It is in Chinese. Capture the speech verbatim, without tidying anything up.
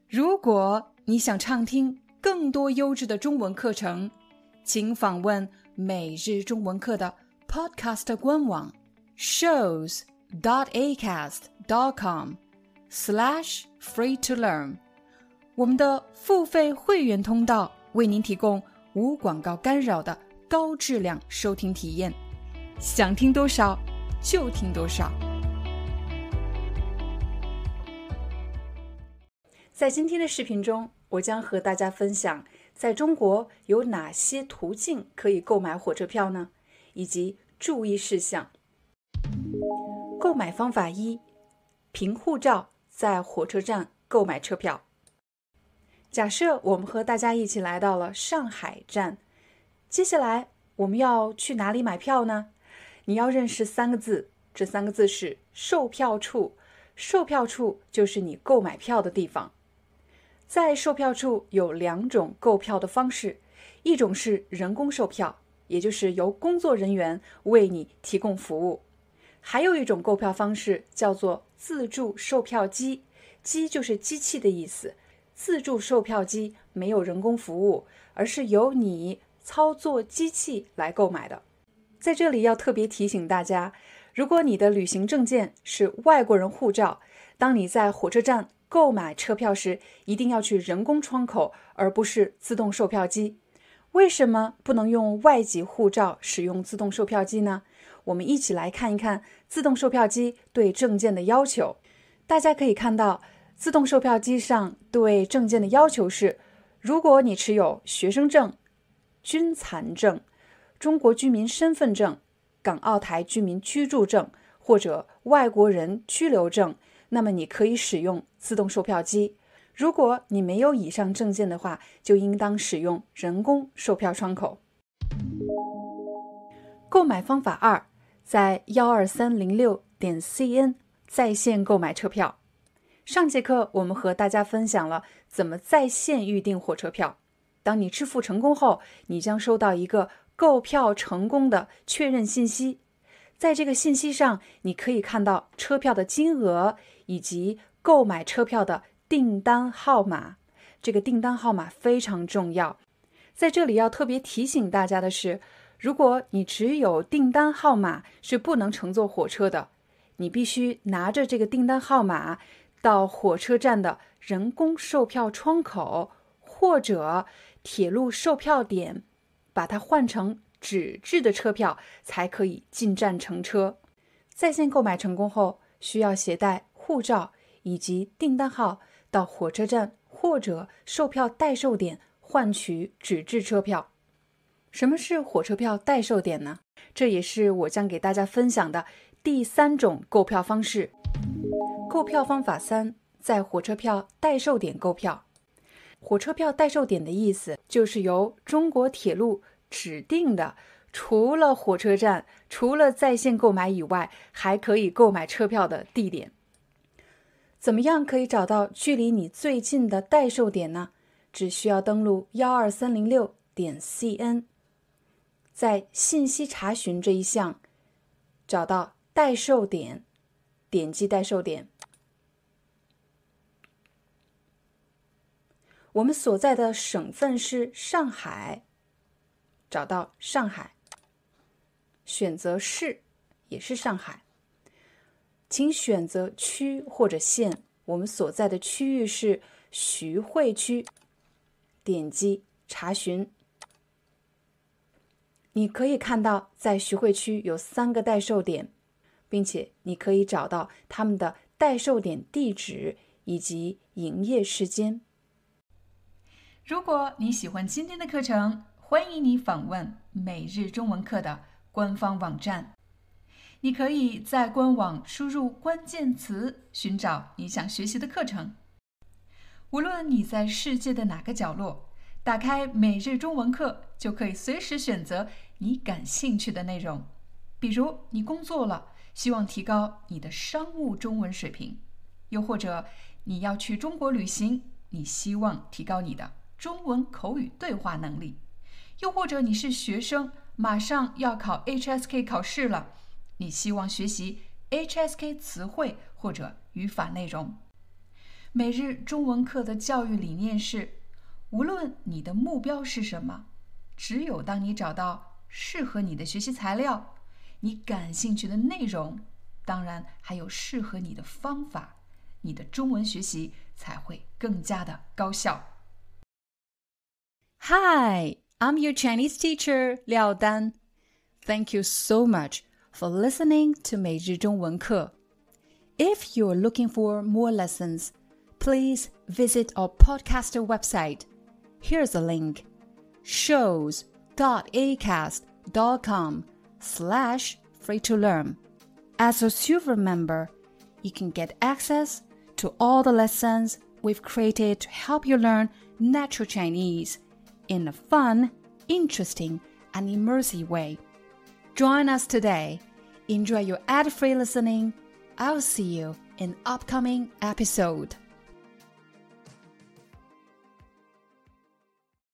如果你想畅听更多优质的中文课程，请访问每日中文课的 Podcast 官网 shows dot acast dot com slash free to learn。 我们的付费会员通道为您提供无广告干扰的高质量收听体验，想听多少就听多少。在今天的视频中，我将和大家分享在中国有哪些途径可以购买火车票呢？以及注意事项。购买方法一：凭护照在火车站购买车票。假设我们和大家一起来到了上海站，接下来我们要去哪里买票呢？你要认识三个字，这三个字是售票处。售票处就是你购买票的地方。在售票处有两种购票的方式，一种是人工售票，也就是由工作人员为你提供服务。还有一种购票方式叫做自助售票机，机就是机器的意思。自助售票机没有人工服务，而是由你操作机器来购买的。在这里要特别提醒大家，如果你的旅行证件是外国人护照，当你在火车站购买车票时，一定要去人工窗口，而不是自动售票机。为什么不能用外籍护照使用自动售票机呢？我们一起来看一看自动售票机对证件的要求。大家可以看到，自动售票机上对证件的要求是，如果你持有学生证、军残证、中国居民身份证、港澳台居民居住证或者外国人居留证，那么你可以使用自动售票机。如果你没有以上证件的话，就应当使用人工售票窗口。购买方法二，在一二三零六点 C N 在线购买车票。上节课我们和大家分享了怎么在线预订火车票。当你支付成功后，你将收到一个购票成功的确认信息。在这个信息上，你可以看到车票的金额以及购买车票的订单号码。这个订单号码非常重要。在这里要特别提醒大家的是，如果你只有订单号码是不能乘坐火车的，你必须拿着这个订单号码到火车站的人工售票窗口或者铁路售票点，把它换成纸质的车票，才可以进站乘车。在线购买成功后，需要携带护照以及订单号到火车站或者售票代售点换取纸质车票。什么是火车票代售点呢？这也是我将给大家分享的第三种购票方式。购票方法三，在火车票代售点购票。火车票代售点的意思就是由中国铁路指定的，除了火车站、除了在线购买以外，还可以购买车票的地点。怎么样可以找到距离你最近的代售点呢？只需要登录一二三零六点 C N， 在信息查询这一项找到代售点，点击代售点。我们所在的省份是上海，找到上海，选择市也是上海，请选择区或者县，我们所在的区域是徐汇区，点击查询。你可以看到在徐汇区有三个代售点，并且你可以找到他们的代售点地址以及营业时间。如果你喜欢今天的课程，欢迎你访问每日中文课的官方网站。你可以在官网输入关键词，寻找你想学习的课程。无论你在世界的哪个角落，打开每日中文课，就可以随时选择你感兴趣的内容。比如你工作了，希望提高你的商务中文水平，又或者你要去中国旅行，你希望提高你的中文口语对话能力，又或者你是学生，马上要考 H S K 考试了，你希望学习 H S K 词汇或者语法内容。 每日中文课的教育理念是，无论你的目标是什么，只有当你找到适合你的学习材料，你感兴趣的内容，当然还有适合你的方法，你的中文学习才会更加的高效。Hi, I'm your Chinese teacher, Liao Dan. Thank you so much for listening to 每日中文课。If you're looking for more lessons, please visit our podcaster website. Here's a link, shows.acast.com slash free to learn. As a silver member, you can get access to all the lessons we've created to help you learn natural Chinese in a fun, interesting, and immersive way. Join us today. Enjoy your ad-free listening. I'll see you in upcoming episode.